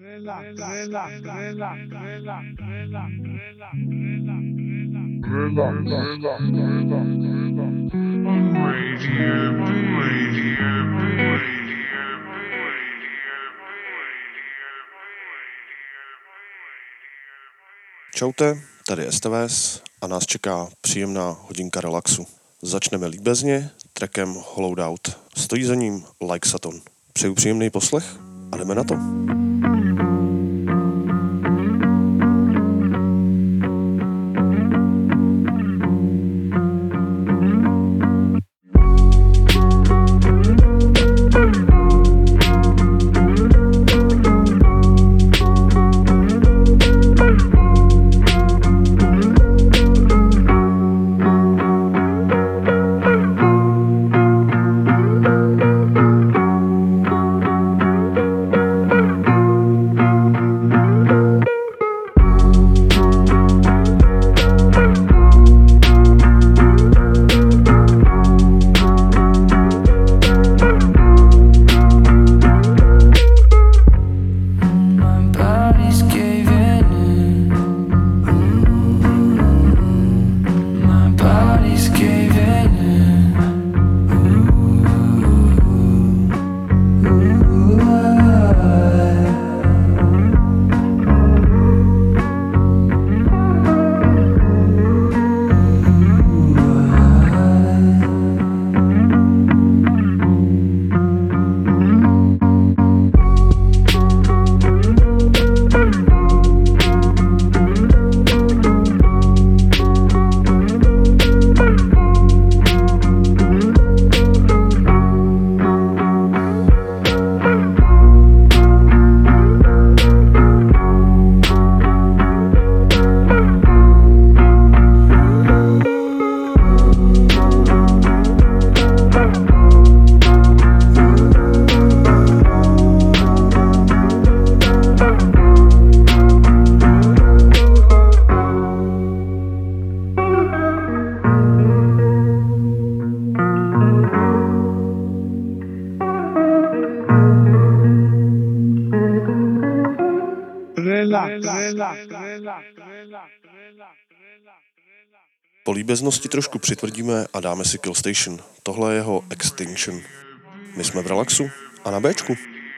Čaute, tady STVS a nás čeká příjemná hodinka relaxu. Začneme líbezně trackem Hollowed Out. Stojí za ním Like Saturn. Přeju příjemný poslech a jdeme na to. Po líbeznosti trošku přitvrdíme a dáme si Kill Station. Tohle je jeho Extinction. My jsme v relaxu a na Bčku.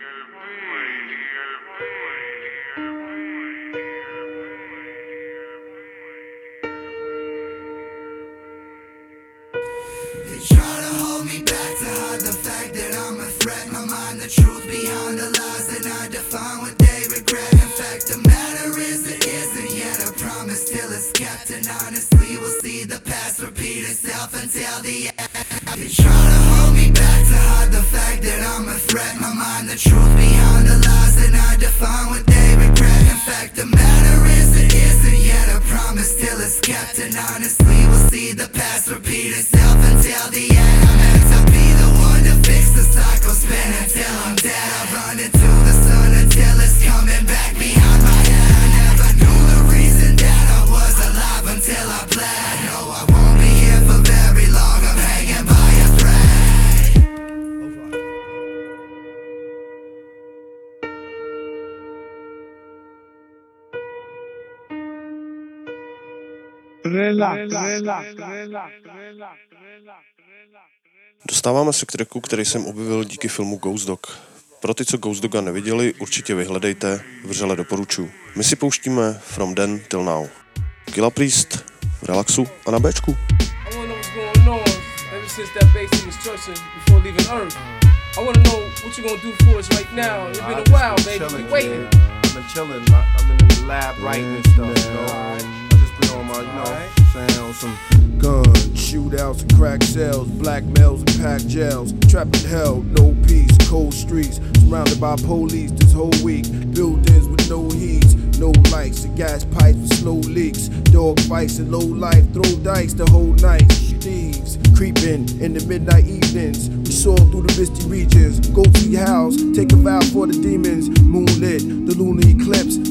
Dostáváme se k tracku, který jsem objevil díky filmu Ghost Dog. Pro ty, co Ghost Doga neviděli, určitě vyhledejte, vřele doporučuji. My si pouštíme From Then Till Now. Killah Priest v relaxu a na Bčku. I wanna know what you gonna do for us right now. It's been a while, baby. We waiting. I've been chilling. I've been in the lab writing and stuff, you know. I just been on my, you know, saying on some guns, shootouts and crack cells, blackmails and packed jails, trapped in hell, no peace, cold streets, surrounded by police this whole week, buildings with no heat, no lights, and gas pipes with slow leaks, dog fights and low life, throw dice the whole night, thieves creeping in the midnight evenings, we soar through the misty regions, go to your house, take a vow for the demons, moonlit, the lunar eclipse,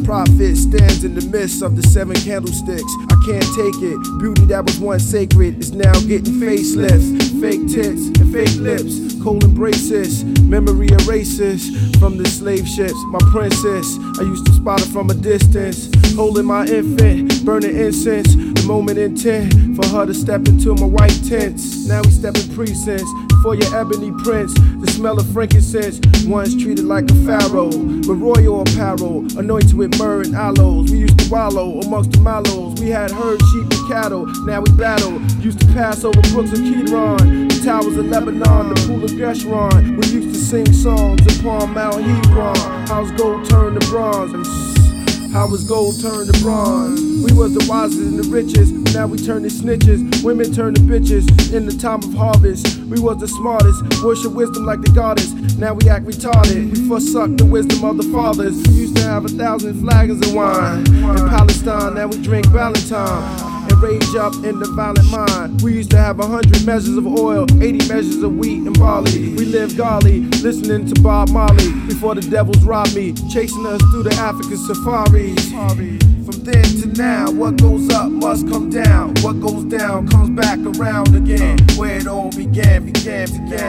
prophet stands in the midst of the 7 candlesticks. I can't take it. Beauty that was once sacred is now getting facelifts. Fake tits and fake lips, cold embraces, memory erases from the slave ships. My princess, I used to spot her from a distance, holding my infant, burning incense. The moment intent for her to step into my white tents. Now we step in precincts for your ebony prince. The smell of frankincense, once treated like a pharaoh, with royal apparel, anointed with myrrh and aloes. We used to wallow amongst the mallows. We had herds, sheep, and cattle. Now we battle. Used to pass over brooks of Kidron, the towers of Lebanon, the pool of Geshron. We used to sing songs upon Mount Hebron. How's gold turned to bronze? How was gold turned to bronze? We was the wisest and the richest. Now we turn to snitches. Women turn to bitches in the time of harvest. We was the smartest. Worship wisdom like the goddess. Now we act retarded. We forsook the wisdom of the fathers. We used to have 1,000 flagons of wine. In Palestine, now we drink Valentine and rage up in the violent mind. We used to have 100 measures of oil, 80 measures of wheat and barley. We lived golly, listening to Bob Marley before the devils robbed me, chasing us through the African safaris. From then to now, what goes up must come down. What goes down comes back around again. Where it all began to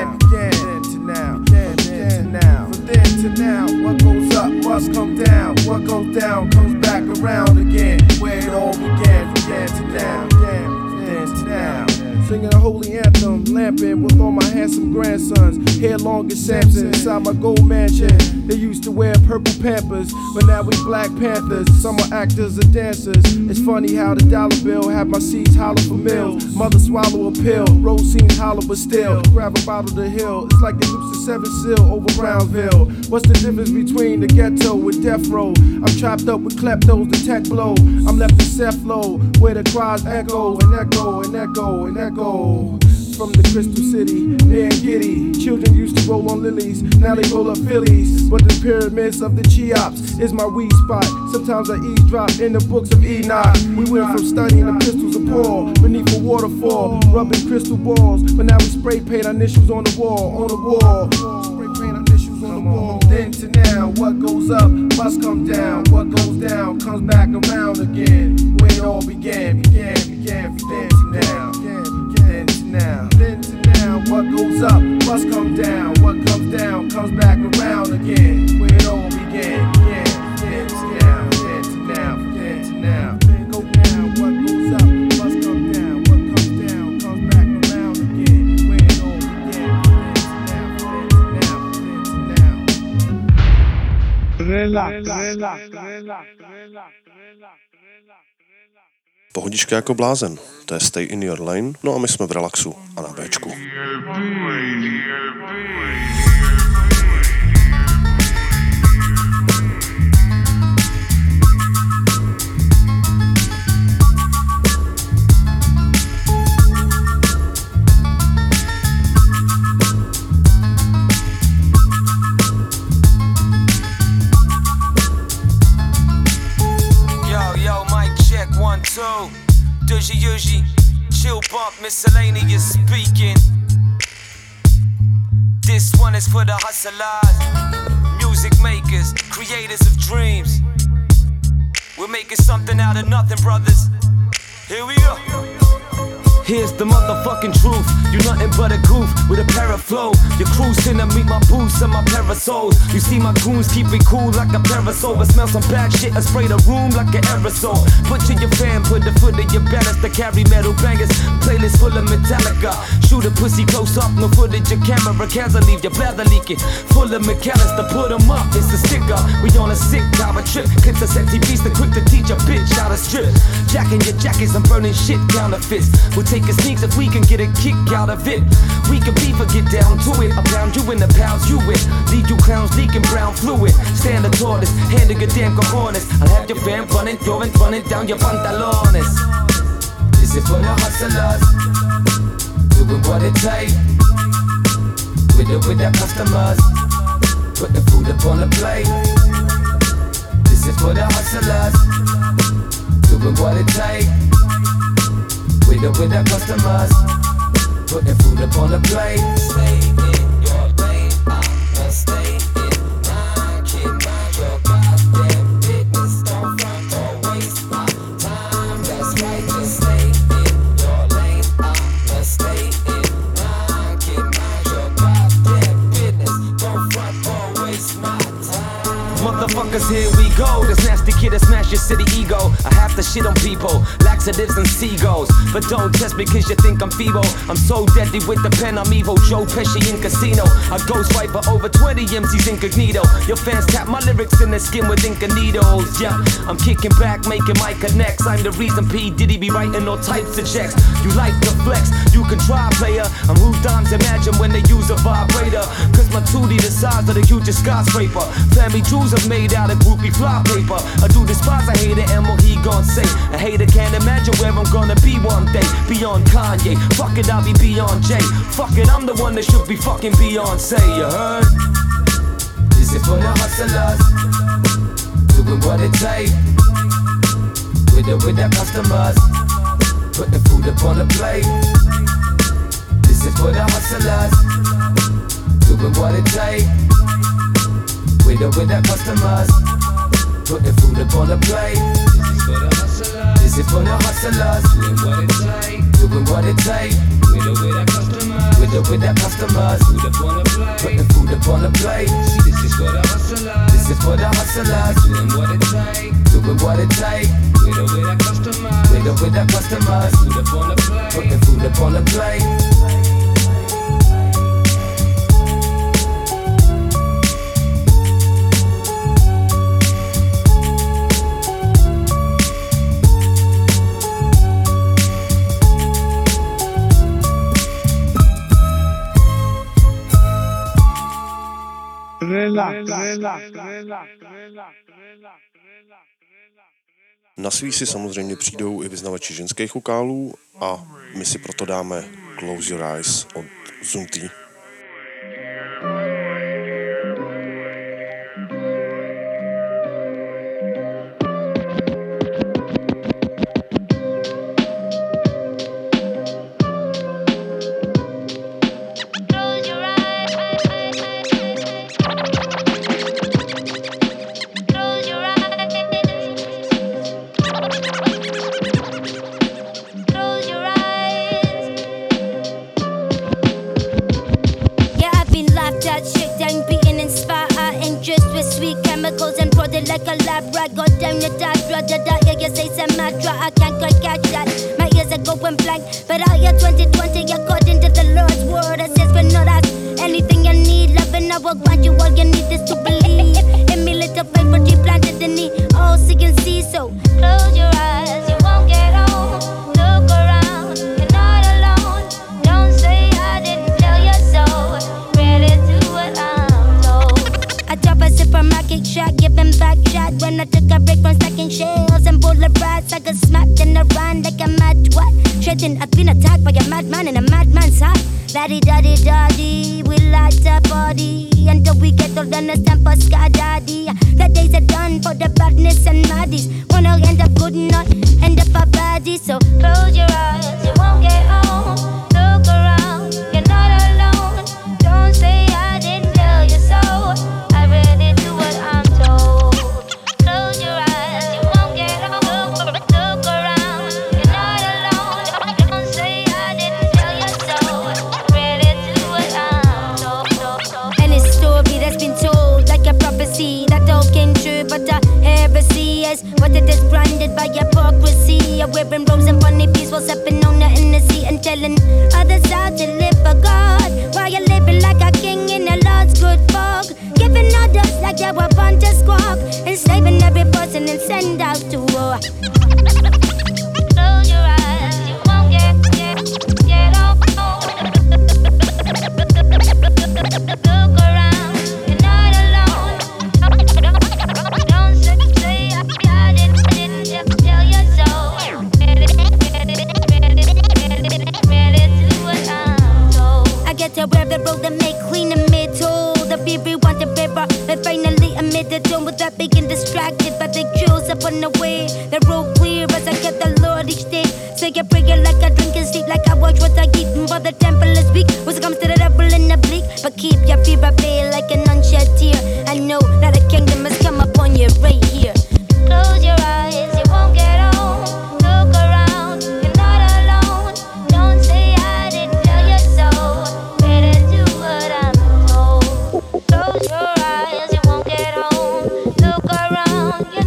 now. From then to now, what goes up must come down. What goes down comes back around again. Where it all began to now. Singing a holy anthem, lamping with all my handsome grandsons. Hair long as Samson inside my gold mansion. They used to wear purple Pampers, but now we Black Panthers. Some are actors and dancers. It's funny how the dollar bill had my seeds hollow for meals. Mother swallow a pill, roll seems hollow but still. Grab a bottle to hill, it's like they loose the 7th seal over Brownsville. What's the difference between the ghetto and death row? I'm trapped up with kleptos, the tech blow. I'm left in Cephalo, where the cries echo and echo and echo and echo. From the Crystal City, near Giddy. Children used to roll on lilies, now they roll up Phillies. But the pyramids of the Cheops is my weed spot. Sometimes I eavesdrop in the books of Enoch. We went from studying the pistols of Paul beneath a waterfall, rubbing crystal balls. But now we spray paint our initials on the wall, Spray paint our initials on the wall. Then to now, what goes up must come down. What goes down comes back around again. Where it all began from then to now. Then to now, what goes up must come down. What comes down comes back around again. Where it all began. Then to now. Go down, what goes up must come down. What comes down comes back around again. Where it all began. Pohodička jako blázen, to je Stay in Your Lane, no a my jsme v relaxu a na Bčku. Usually chill bump, miscellaneous speaking. This one is for the hustlers, music makers, creators of dreams. We're making something out of nothing, brothers. Here we go. Here's the motherfucking truth. You nothing but a goof with a pair of flow. You're cruising to meet my boots and my parasols. You see my goons keep it cool like a parasol, but smell some bad shit and spray the room like an aerosol. Butcher your fan, put the foot in your balance to carry metal bangers. Playlist full of Metallica. Shoot a pussy close up, no footage. Your camera can't leave your bladder leaking. Full of mechanics to put them up. It's a sticker. We on a sick power trip. Clips a sexy beast, quick to teach a bitch how to strip. Jacking your jackets and burning shit counterfeits. We'll take a sneaks if we can get a kick out of it. We can beef or get down to it. I'll pound you in the pounds you with. Lead you clowns leaking brown fluid. Stand the tallest, handle your damn cojones. I'll have your fam running down your pantalones. This is for the hustlers, doing what it takes. With their customers, put the food up on the plate. This is for the hustlers, doing what it takes. With their customers, put the food up on the plate. Stay in your lane, I'ma stay in mine. Can't mind your goddamn business. cold. This nasty kid that smash your city ego. I have to shit on people, laxatives and seagulls. But don't test me cause you think I'm feeble. I'm so deadly with the pen, I'm evil. Joe Pesci in Casino. I ghostwrite for over 20 MCs incognito. Your fans tap my lyrics in their skin with ink and needles. Yeah, I'm kicking back, making my connects. I'm the reason P. Diddy be writing all types of checks. You like the flex, you can try, player. I'm who dimes imagine when they use a vibrator. Cause my 2D the size of the hugest skyscraper. Family jewels are made out of groupie fly paper. I do despise a hater and what he gon' say. A hater can't imagine where I'm gonna be one day. Beyond Kanye, fuck it, I'll be beyond Jay. Fuck it, I'm the one that should be fucking Beyonce, you heard? This is for the hustlers, doing what it take. With the customers, putting food up on the plate. This is for the hustlers, doing what it take. With the customers, putting food up on the plate. This is for the hustlers, doing what it take. Doing what it take. With the customers, food up on the plate. Putting food up on the plate. See, this is for the hustlers. This is for the hustlers, doing what it take. Doing what it take. With the customers, with the customers, food up on the plate. Putting food up on the plate. Na svý si samozřejmě přijdou i vyznavači ženských vokálů a my si proto dáme Close Your Eyes od Zunti. Like a lab rat, go down your dad, brother, that yeah, you say some mad drop, I can't quite catch that. My ears are going blank, but all year 2020, according to the Lord's word, it says we're not us. Anything you need, love and I will grant you, all you need is to believe. In me little faith, but you planted the knee, all see and see, so close your eyes, you won't get home. Look around, you're not alone. Don't say I didn't tell you so. Ready to what I'm told. I drop a supermarket shot, give him back shot. When I took a break from stacking shells and bullet rats, I got smacked in the run like a mad twat. Shredding, I've been attacked by a madman in a madman's heart. Daddy, we like the body until we get older and stand for Sky Daddy. The days are done for the badness and maddies. Wanna end up good, not end up a baddie. So close your eyes, you won't get home. Look around, you're not alone. Don't say I didn't tell you so. I really do what I'm told. Close your eyes, you won't get home. Look around, you're not alone. Don't say I didn't tell you so. Really do what I'm told. And it's a story that's been told like a prophecy that all came true, but the heresy is what it is branded by hypocrisy. Wearing rose and bunny peas while sipping on the Hennessy and telling others how to live for God, while you're living like a king in the Lord's good fog. Giving others like they were born to squawk, enslaving every person and send out to war. Close your eyes, you won't get off. Look around, you're not alone. Don't say I didn't tell you so. Ready to what I'm told. I get to where the road that make clean and made told. The baby want the paper, but finally admit the tone without being distracted by the cues up on the way. The road clear as I get the Lord each day. Say a prayer like I drink and sleep, like I watch what I eat. And for the temple is weak, when it comes to the devil in the bleak. But keep your fear at bay like an unshed tear. I know that a kingdom has come upon you right here. Close your eyes, you won't get home. Look around, you're not alone. Don't say I didn't tell you so. Better do what I'm told. Close your eyes, you won't get home. Look around, you're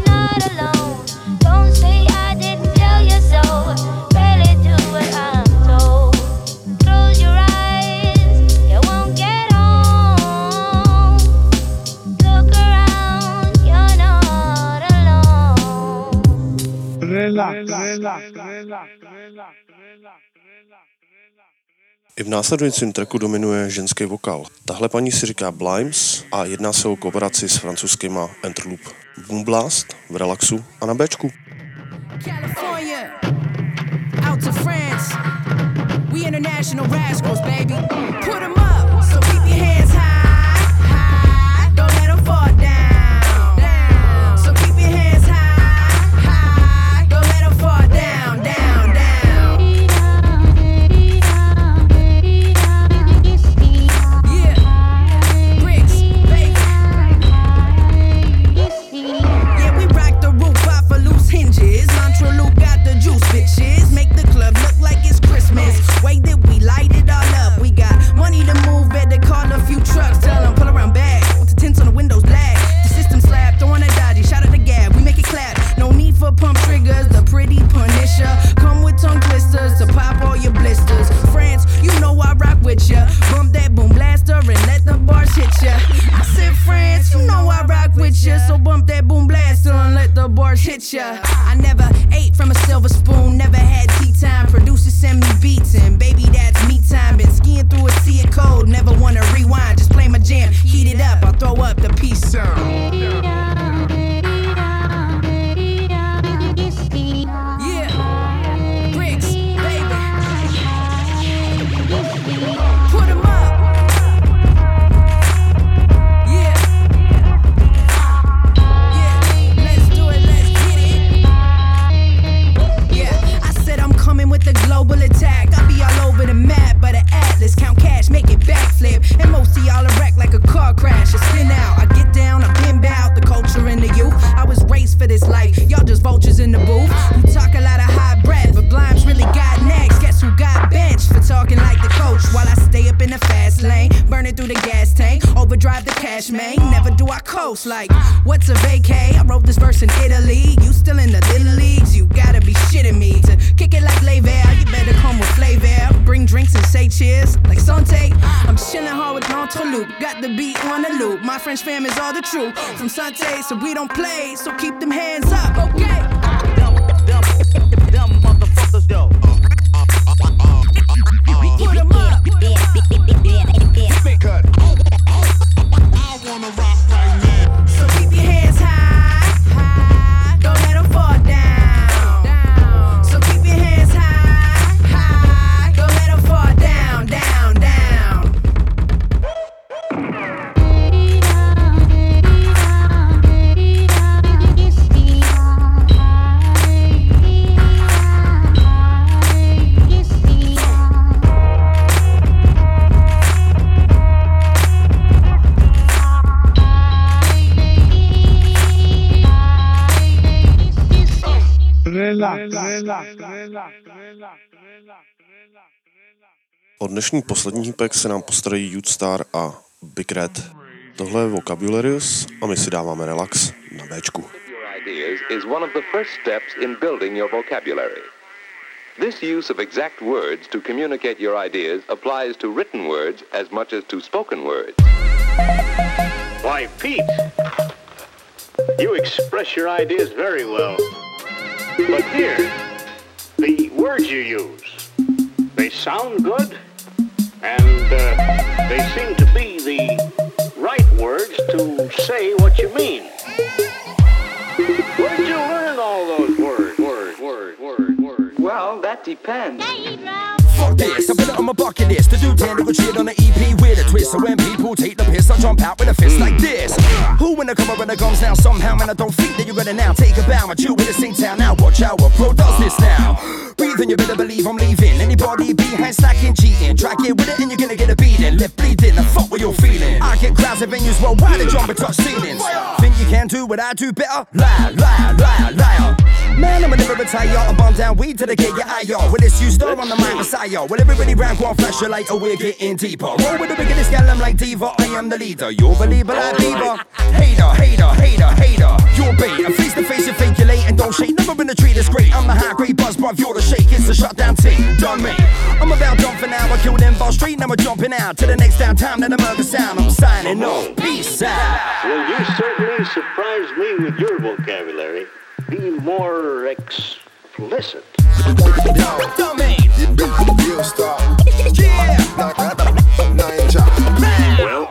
I v následujícím tracku dominuje ženský vokál. Tahle paní si říká Blimes a jedná se o kooperaci s francouzskýma Enterloop. Boom Blast v Relaxu a na Bčku. California, out to France. We international rascals, baby. Put 'em up, so keep your hands high, high. Don't let 'em fall down, down. So keep your hands high, high. Don't let 'em fall down, down, down. Yeah, bricks, baby. Yeah, we rock the roof off of loose hinges. Luke got the juice, bitches. Make the club look like it's Christmas. Way that we light it all up. We got money to move, better call a few trucks. Tell them pull around back. With the tints on the windows black. The system slap, throwing a dodgy. Shout out the gap, we make it clap. No need for pump triggers, the pretty punisher. Come with tongue twisters to pop all your blisters. France, you know I rock with ya. Bump that boom blaster and let the bars hit ya. I said France, you know I rock with ya. So bump that boom blaster and let the bars hit ya. I never ate from a silver spoon, never had tea time. Producers send me beats and baby that's me time. Been skiing through a sea of cold, never wanna rewind. Just play my jam, heat it up, I'll throw up the peace sound. Yeah, bricks, baby. Put 'em up. Yeah. Yeah, let's do it, let's get it. Yeah, I said I'm coming with the global attack. I'll be all over the map, but an atlas, count cash, make it backflip. And most of y'all are wrecked like a car crash. I spin out, I get down, I pin out the culture and the youth. I was raised for this life, y'all just vultures in the booth. Who talk a lot of high breath, but Blimes really got next. Guess who got benched for talking like the coach? While I stay up in the fast lane, burning through the gas tank, overdrive the cash main. Never do I coast like, what's a vacay? I wrote this verse in Italy. You still in the little leagues? You gotta be shitting me. To kick it like Lever, you better come with flavor. Bring drinks and say cheers like Sante. I'm chilling hard with Enterloop, got the beat on the loop. My French fam is all the truth from Sante, so we don't play. So keep them hands up, okay? Dumb motherfuckers, though. Put 'em up. Cut. I wanna rock right now. So keep your hands high, high. Don't let 'em fall down, down. So keep your hands high, high. Don't let 'em fall down, down, down. O dnešní poslední hýpek se nám postarají Youth Star a Big Red. Tohle je Vocabularius a my si dáváme Relax na Bčku. Ideas is one of the first steps in building your vocabulary. This use of exact words to communicate your ideas applies to written words as much as to spoken words. Why, Pete, you express your ideas very well. But here, the words you use, they sound good, and they seem to be the right words to say what you mean. Where did you learn all those words? Well, that depends. Fuck this, I put it on my bucket list to do 10 little shit on the EP with a twist. So when people take the piss, I jump out with a fist like this. Who when I come around the gums now somehow, man, I don't think that you're gonna now take a bow and chill with a sing town. Now watch how a pro does this now. Breathing, you better believe I'm leaving. Anybody behind slacking, cheating, try get with it and you're gonna get a beating. Left bleeding, the fuck what you're feeling. I get crowds at venues worldwide and jump and touch ceilings. Think you can do what I do better? Liar, liar, liar, liar. Man, I'm a never retire. I'm bomb down weed till they get your eye on. With this you star on the mind messiah. Well, everybody round go on flash your light, oh, we're getting deeper. Roll with the biggest gal, I'm like diva. I am the leader. You're a believer like Bieber. Hater, hater, hater, hater. You're bait. And face to face, you fake, you're late and don't shake. Never been a treat, it's great. I'm the high grade buzz, bruv. You're the shake. It's the shutdown team. Done me. I'm about done for now. I killed them ball street. Now we're jumping out to the next downtime. Let the murder sound. I'm signing off. Peace out. Well, you certainly surprised me with your vocabulary. Be more explicit. You stop. Ninja. Well,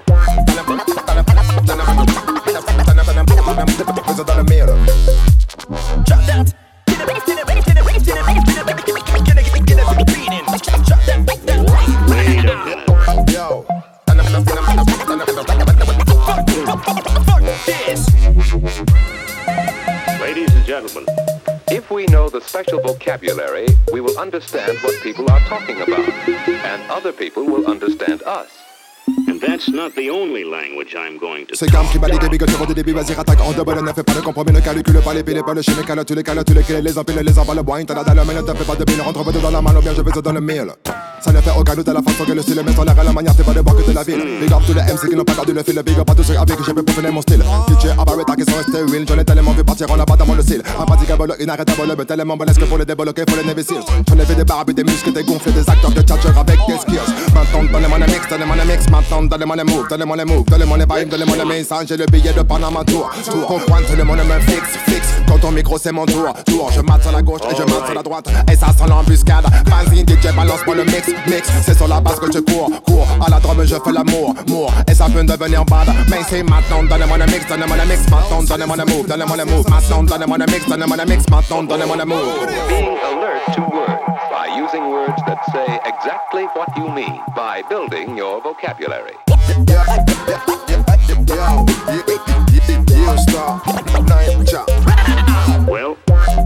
ladies and gentlemen, If we know the special vocabulary, we will understand what people are talking about, and other people will understand us. and that's not the only language I'm going to C'est gamme qui bat les débits que tu rends des débits, vas-y rattaque en double, ne fais pas de compromis, ne calcule pas les piles, pas le chimie, cale tous les clés, les empiles, les emballes, bois, t'as la dalle, mais ne te fais pas de billes, rentre pas dans la main, ou bien je vais te donner le mille. Ça ne fait aucun doute à la façon que le style met sur l'air à la manière, t'es pas de boire que de la ville. Big up tous les MC qui n'ont pas gardé le fil, big up à tous ceux avec qui j'ai pu peaufiner mon style. DJ Abarreta qui sont restés real, j'en ai tellement vu partir en abattant le style. Impraticable, inarrêtable, mais tellement balèze que pour les débloquer, faut les Navy Seals. J'en ai fait des barbes et des muscles, des gonflés, des acteurs de tchatcher avec des skills. Maintenant, donnez-moi les mix, donnez-moi les mix, maintenant, donnez-moi les moves, donnez-moi les moves, donnez-moi les vibes, donnez-moi les messages, j'ai le billet de Panama Tour. Pour pointe, donnez-moi le même fixe. Quand ton micro c'est mon tour, je mate sur la gauche et je mate sur la droite. Et ça sent l'embuscade. Vas-y DJ balance-moi le mix. C'est sur la base que je cours. À la drum je fais l'amour. Et ça peut devenir bad. Mais c'est maintenant, donnez-moi le mix, donnez-moi le mix. Maintenant, donnez-moi le move, donnez-moi le move. Maintenant, donnez-moi le mix, donnez-moi le mix. Maintenant, donnez-moi le move. Being alert to words by using words that say exactly what you mean by building your vocabulary. You stop. Ninja. Well,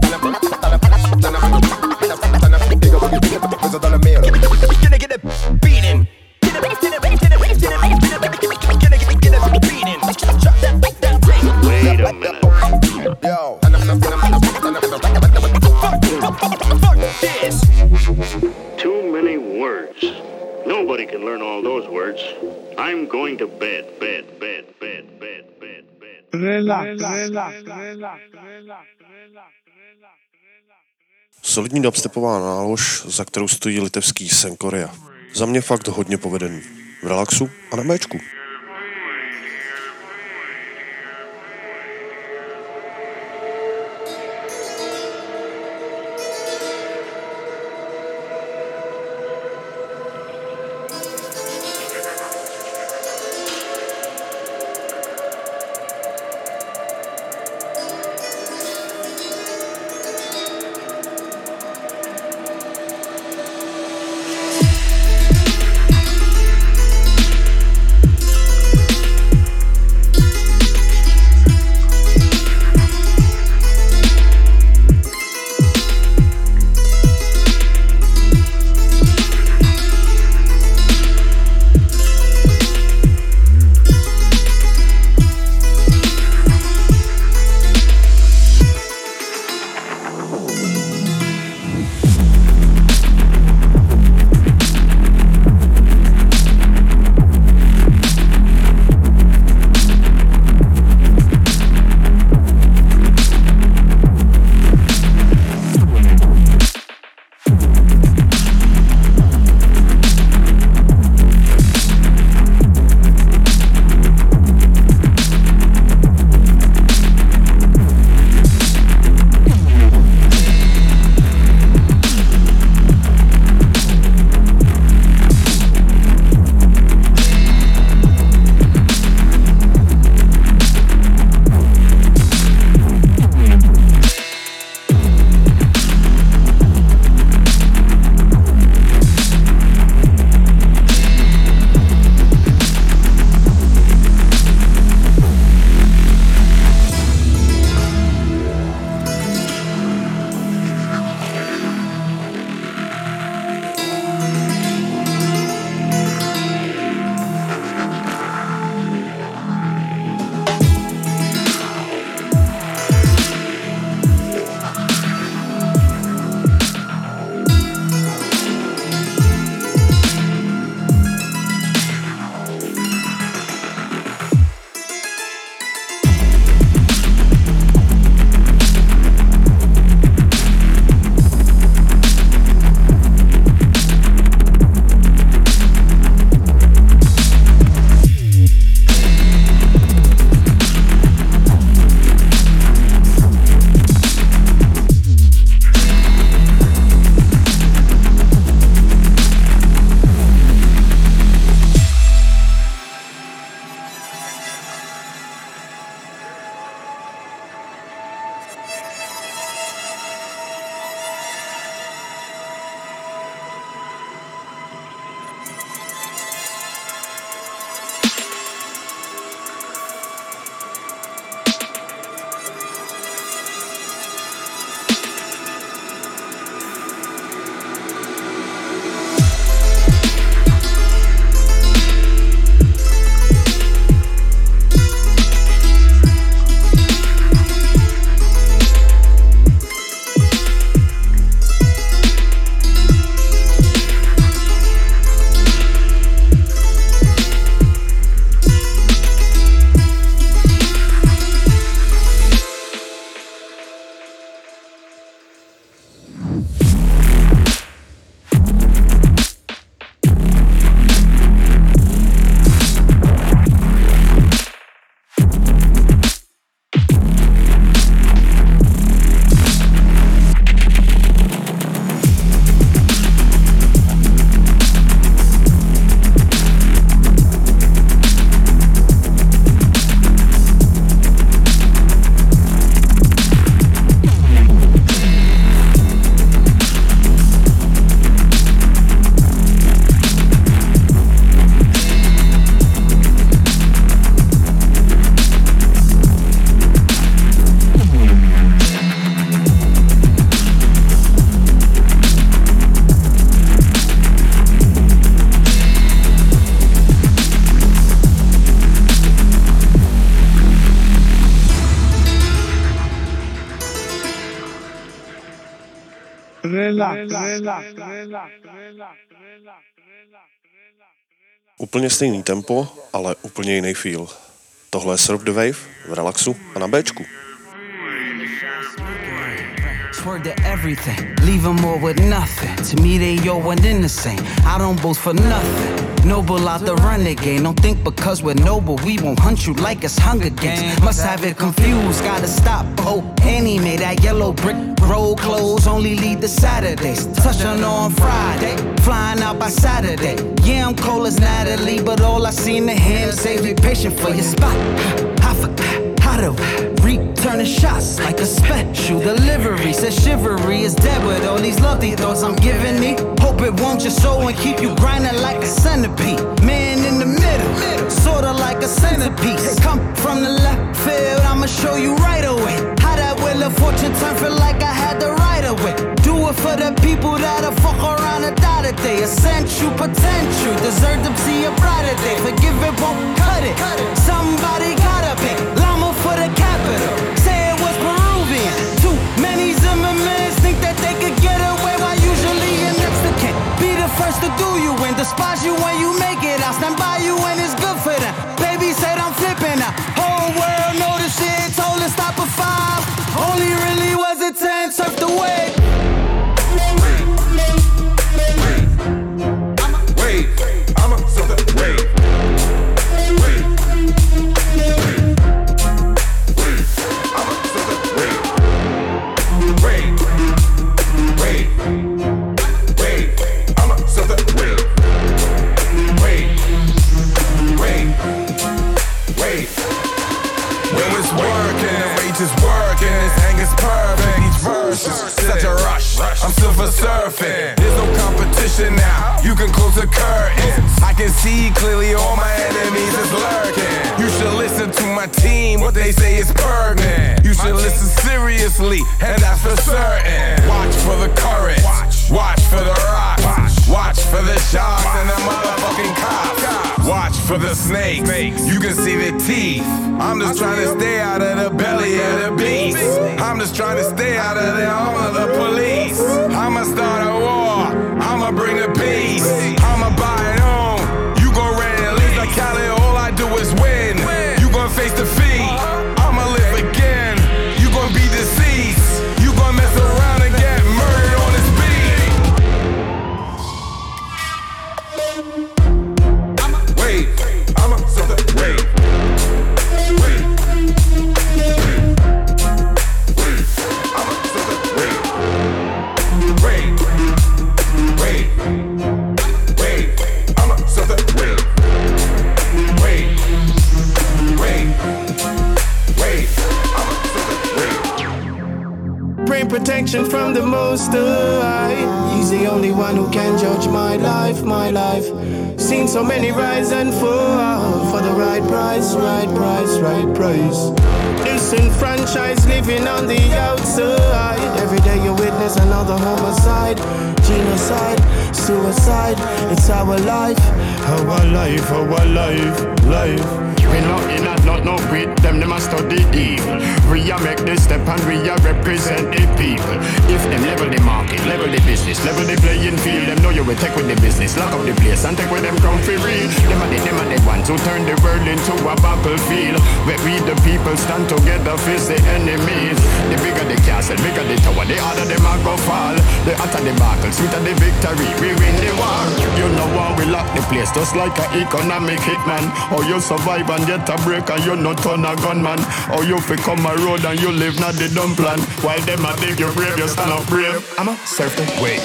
Gonna get a beating. wait a minute. Yo. Fuck this. Too many words. Nobody can learn all those words. I'm going to bed. Solidní dubstepová nálož, za kterou stojí litevský Senkoria. Za mě fakt hodně povedený. V relaxu a na méčku. Úplně stejný tempo, ale úplně jiný feel. Tohle je Surf the Wave v Relaxu a na Bčku. Word to everything, leave them all with nothing. To me they all one in the same. I don't boast for nothing. Noble out the renegade. Don't think because we're noble we won't hunt you like it's Hunger Games. Must have it confused, gotta stop. Oh, anime, that yellow brick road clothes only lead to Saturdays. Touch on Friday, flying out by Saturday. Yeah, I'm cold as Natalie, but all I seen to him say be patient for your spot. I forgot how to return the shots like a special delivery. Says chivalry is dead with all these lovely thoughts I'm giving me. Hope it won't your soul and keep you grinding like a centipede. Man in the middle, sorta like a centerpiece. Come from the left field, I'ma show you right away how that wheel of fortune turn feel like I had the right away. Do it for the people that'll fuck around and die today. Essential potential, deserve to see a brighter day. Forgive it, won't cut it. Somebody gotta pay. Llama for the capital. Say it was Peruvian. Too many Zimmermans think that they could get away while usually you're next to kin. Be the first to do you and despise you when you make it. I'll stand by you when it's good for them. Baby said I'm flipping out. Whole world know the shit. Told her stop at 5. Only really was a 10. Surf the wave. I'ma surf the wave. I'm silver surfing, there's no competition now. You can close the curtains. I can see clearly all my enemies is lurking. You should listen to my team, what they say is pertinent. You should listen seriously, and that's for certain. Watch for the currents, watch for the rocks, watch for the sharks and the motherfucking cops. Watch for the snakes, you can see the teeth. I'm just trying to stay out of the belly of the beast. I'm just trying to stay out of the arm of the police. I'ma start a war, I'ma bring the peace. I'ma buy it home, you gon' rent and leave like Cali. All I do is win, you gon' face defeat. I'ma live again, you gon' be deceased. You gon' mess around and get murdered on this beat. Wait, I'ma surf the wave. Protection from the Most High. He's the only one who can judge my life, my life. Seen so many rise and fall for the right price, right price, right price. Disenfranchised, living on the outside. Every day you witness another homicide, genocide, suicide. It's our life, our life, our life, life. We not in and not no with them a study evil. We a make the step and we a represent the people. If them level the market, level the business, level the playing field, them know you will take with the business, lock up the place and take with them come for real. Them are the ones who turn the world into a battlefield, where we the people stand together face the enemies. The bigger the castle, bigger the tower, the harder them a go fall. The hotter the battle, sweeter the victory, we win the war. You know how we lock the place, just like an economic hitman. Or you survive and get a break and you not turn a gunman. Or you fi come a road and you live not the dumb plan. While them a dig you brave, you stand up brave. I'ma surf the wave.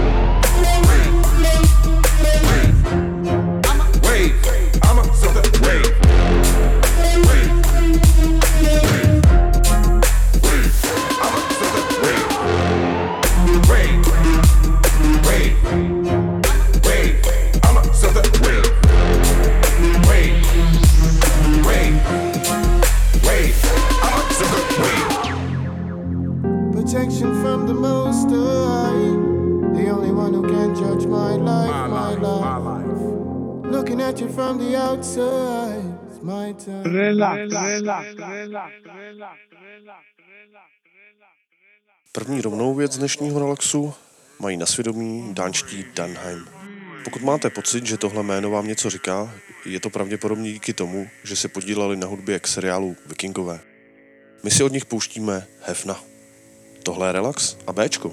Wait, I'ma surf the wave. Protection from the Most High, the only one who can judge my life, my life. Looking at you from the outside, it's První rovnou věc z dnešního relaxu mají na svědomí dánští Danheim. Pokud máte pocit, že tohle jméno vám něco říká, je to pravděpodobně díky tomu, že se podíleli na hudbě k seriálu Vikingové. My si od nich pouštíme Hefna. Tohle je relax a Bčko.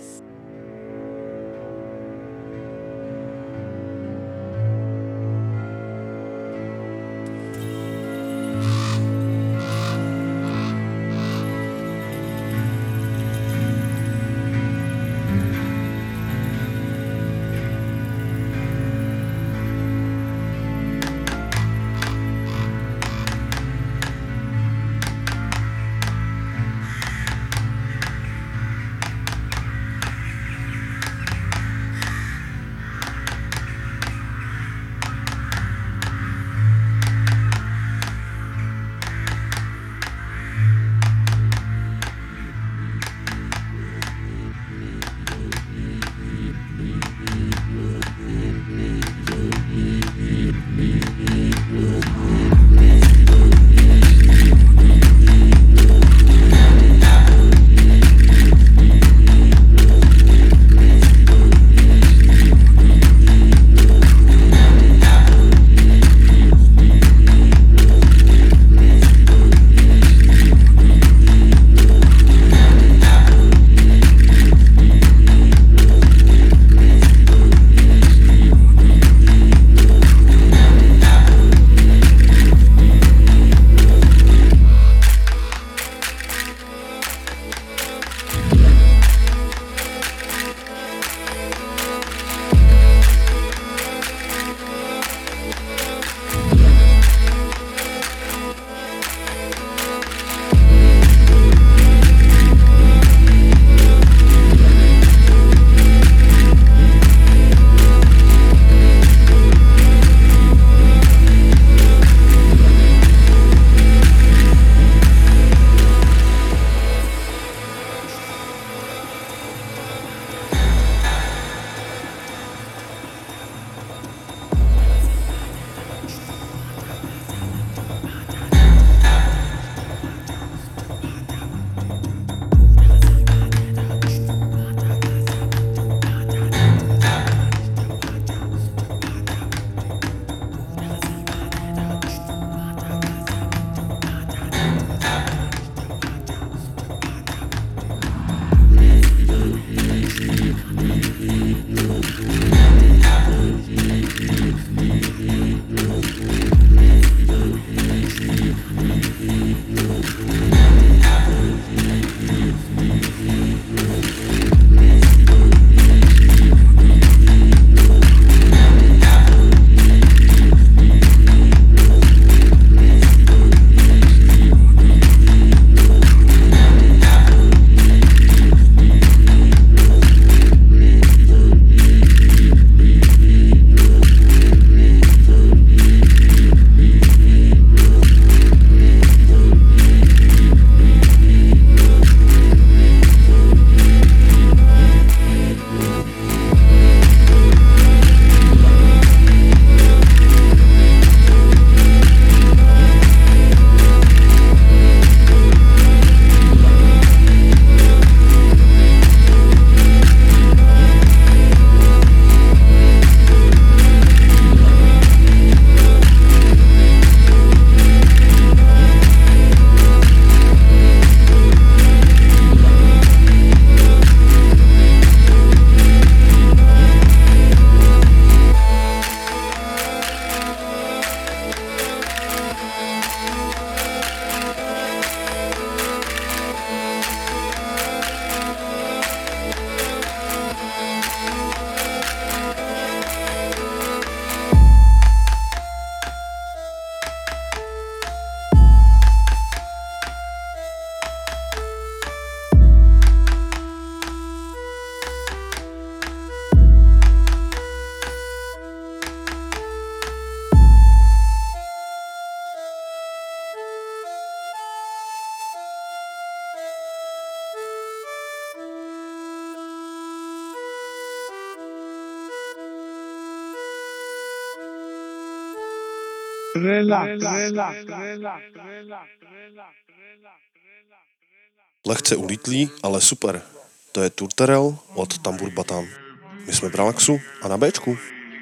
Lehce ulítlý, ale super. To je Turterel od Tambour Batan. My jsme v Relaxu a na Bčku.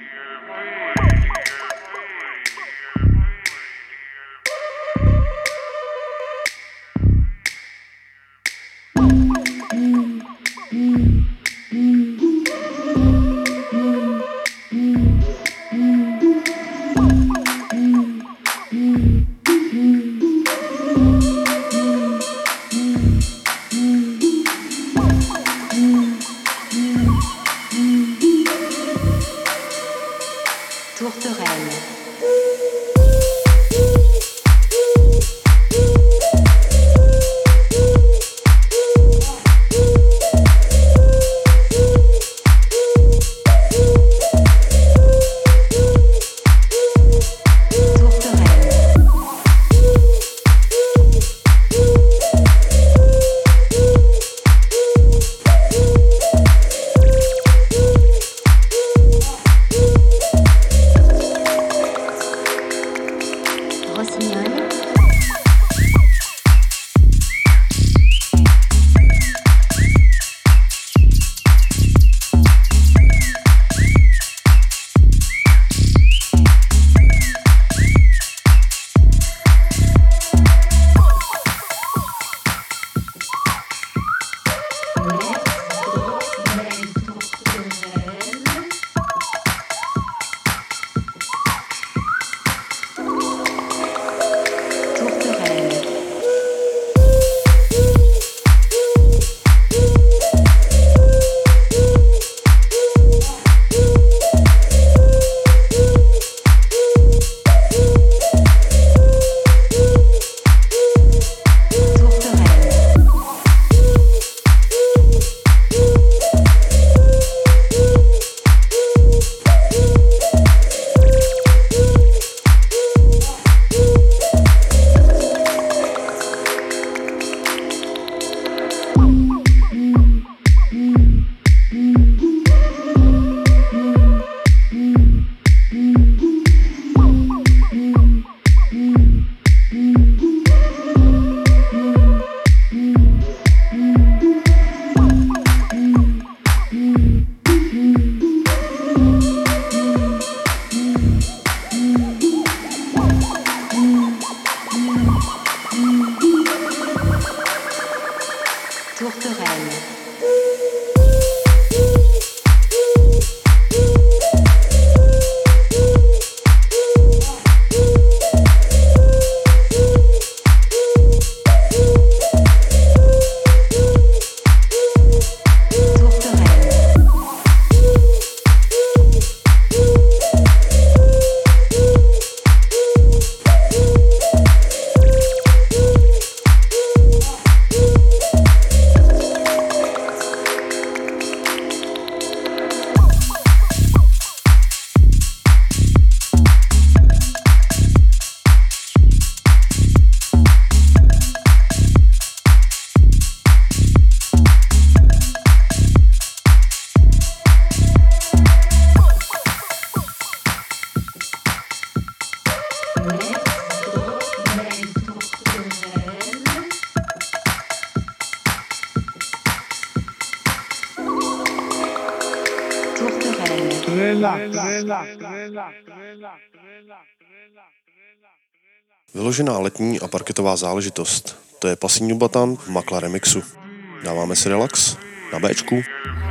Vyložená letní a parketová záležitost. To je Pasíňu Batan v Makla remixu. Dáváme si relax na Bčku.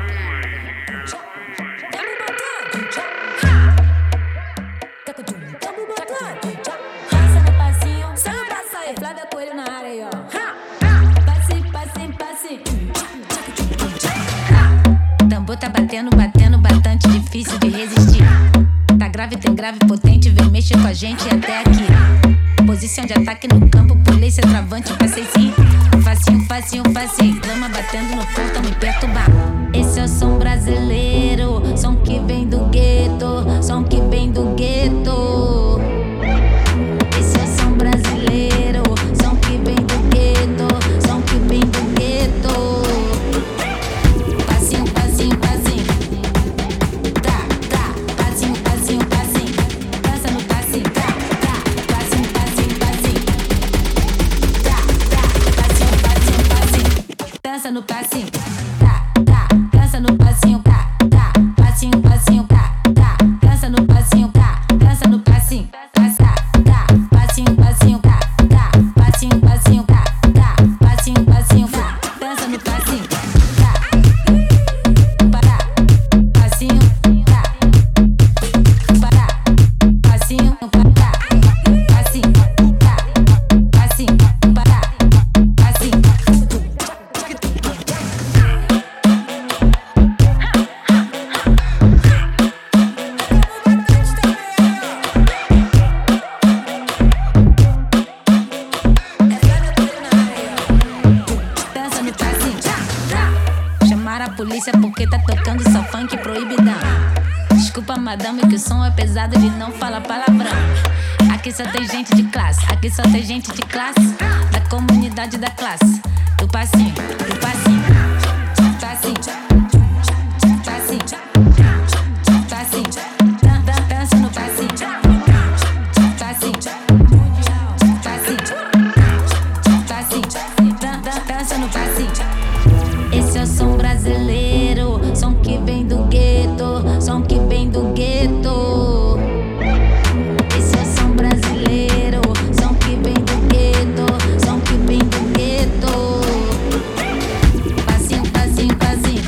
Tá batendo, batendo, bastante difícil de resistir. Tá grave, tem grave, potente, vem mexer com a gente até aqui. Posição de ataque no campo, pulei ser travante, passei sim. Facinho, facinho, facinho, clama batendo no fundo, tá me perturbar. Esse é o som brasileiro, som que vem do gueto, som que vem do gueto. Esse é o som brasileiro, som que vem do gueto, som que vem do gueto. no passinho, tá, tá, dança no passinho, tá, tá, passinho, passinho, tá, tá, dança no passinho, tá, dança no passinho, tá, tá, passinho, passinho, tá, tá, passinho, passinho, tá, tá, passinho, passinho, tá, dança no passinho, tá, para, passinho, tá, para, passinho, para, passinho, tá, passinho, para, passinho. Dança no passinho, chamar a polícia porque tá tocando só funk proibidão. Desculpa, madame, que o som é pesado, ele não fala palavrão. Aqui só tem gente de classe, aqui só tem gente de classe, da comunidade da classe. Do passinho, do passinho, passinho, passinho, passinho, dança no passinho, passinho, passinho, passinho, dança no passinho. Esse é o som brasileiro, som que vem do gueto, som que vem do gueto. Esse é o som brasileiro, som que vem do gueto, som que vem do gueto. Passinho, passinho, passinho,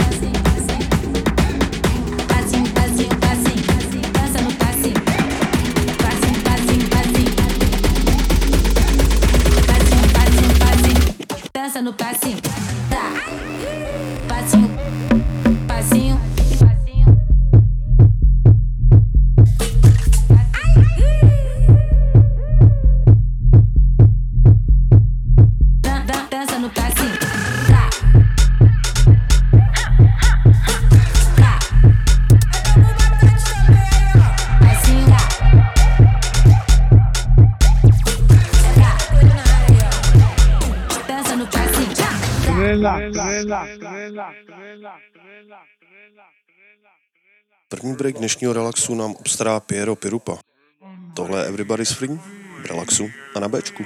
passinho, passinho, passinho, dança no passinho, passinho, passinho, passinho, passinho, passinho, passinho, dança no passinho, tá, passinho, passinho, passinho. Dança no passinho, tá, tá, passinho, tá, dança no passinho, tá. První break dnešního relaxu nám obstará Piero Pirupa. Tohle je Everybody's Free, v relaxu a na Bčku.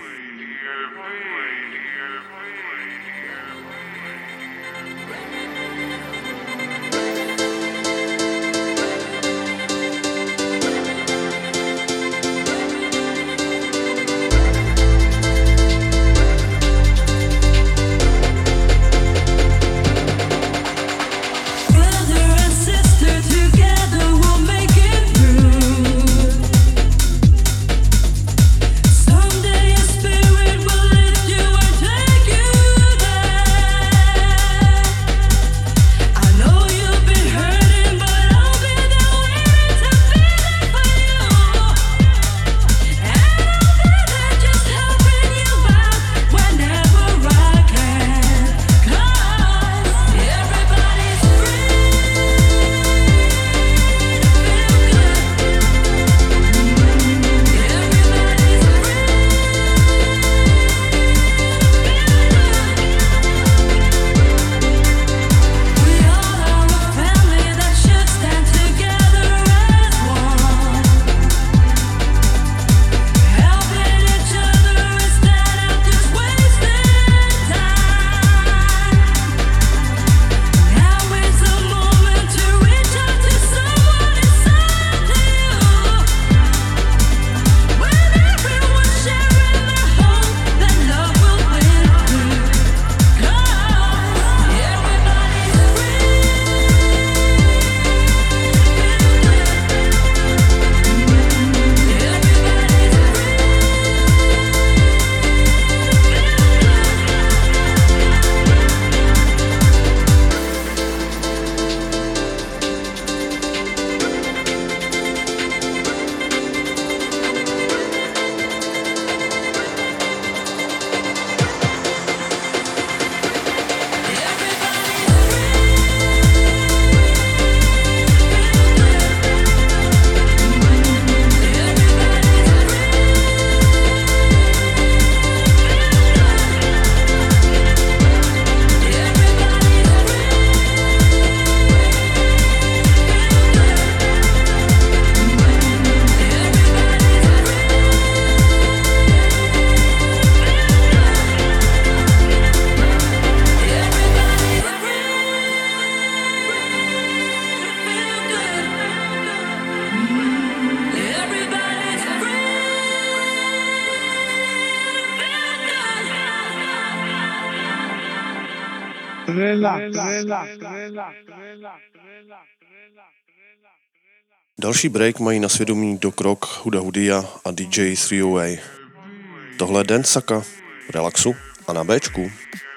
Brother and sister, together we'll make it through. Someday a spirit Další break mají na svědomí Doc Rock, Huda Hudia a DJ 308. Tohle je Dance Saka v Relaxu a na Bčku.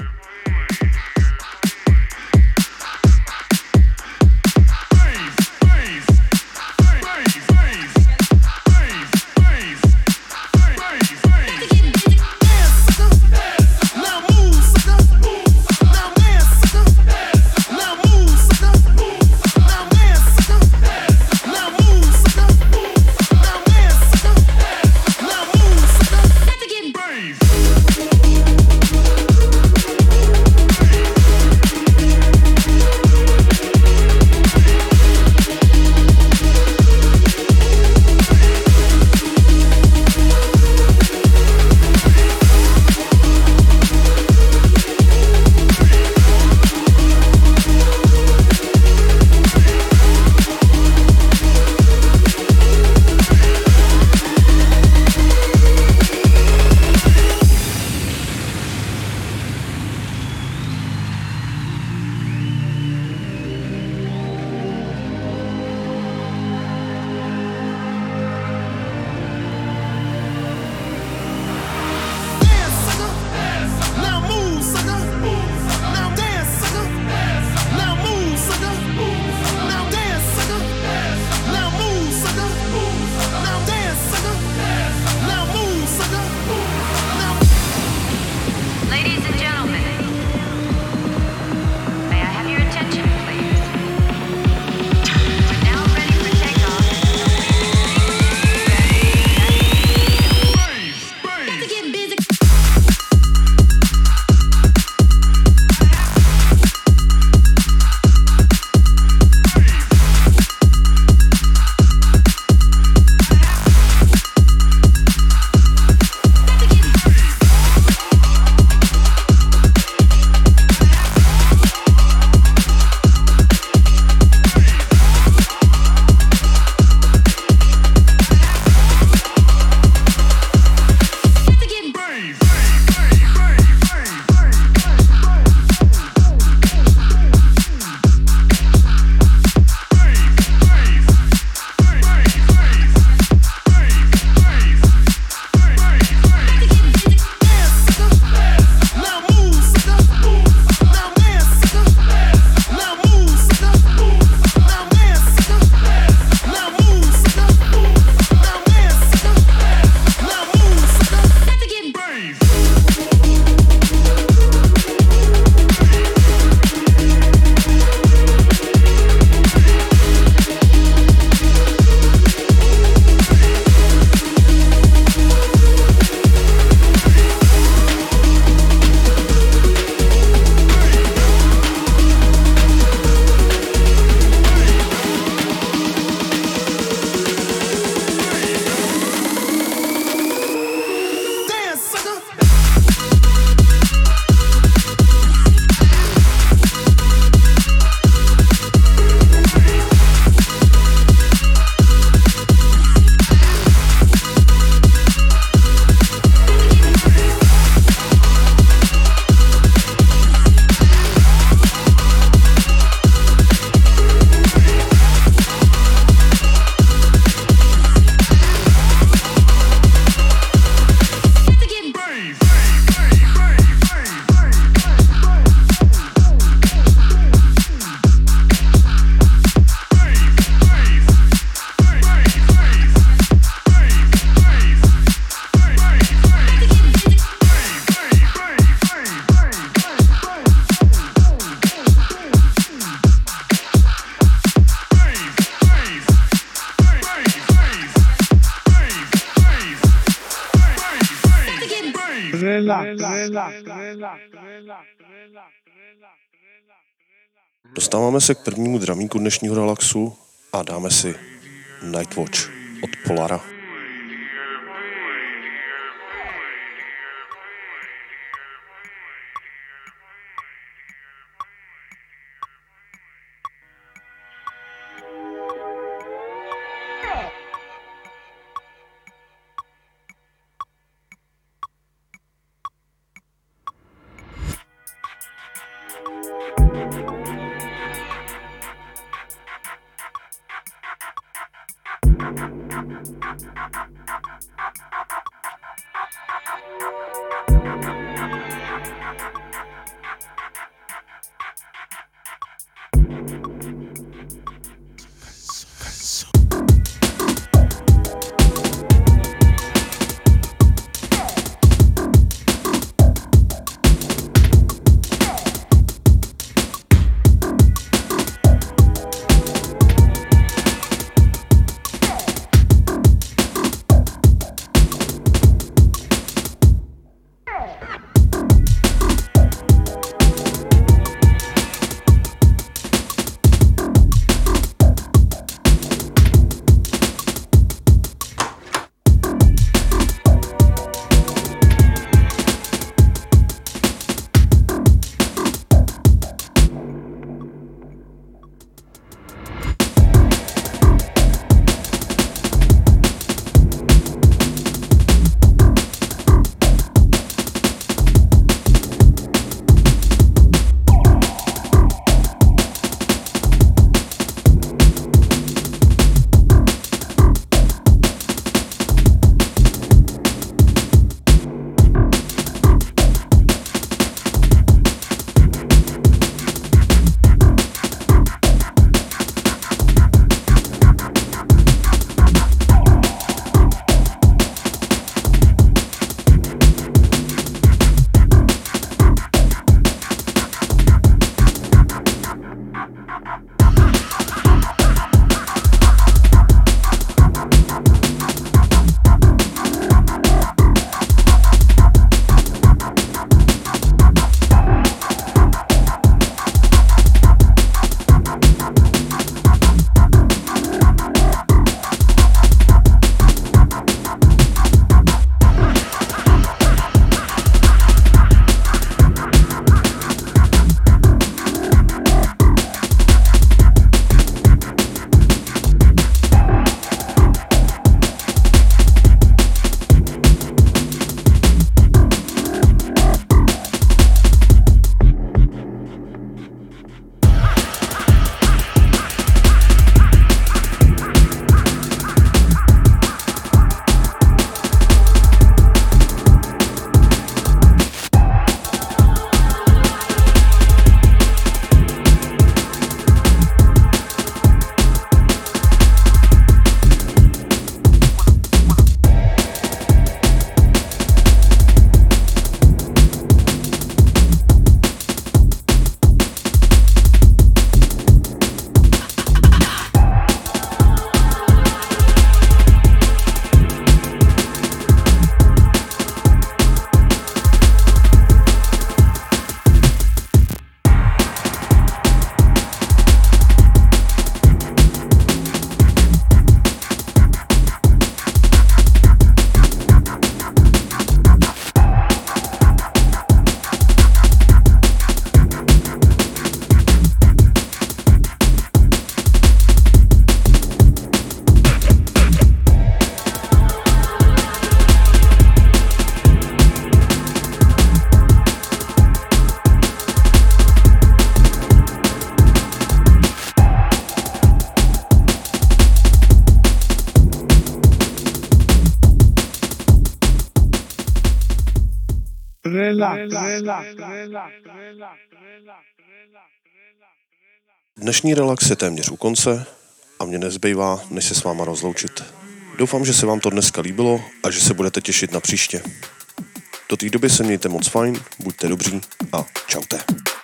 Dostáváme se k prvnímu dramíku dnešního relaxu a dáme si Nightwatch od Polara. Dnešní relax je téměř u konce a mě nezbývá, než se s váma rozloučit. Doufám, že se vám to dneska líbilo a že se budete těšit na příště. Do té doby se mějte moc fajn, buďte dobří a čaute.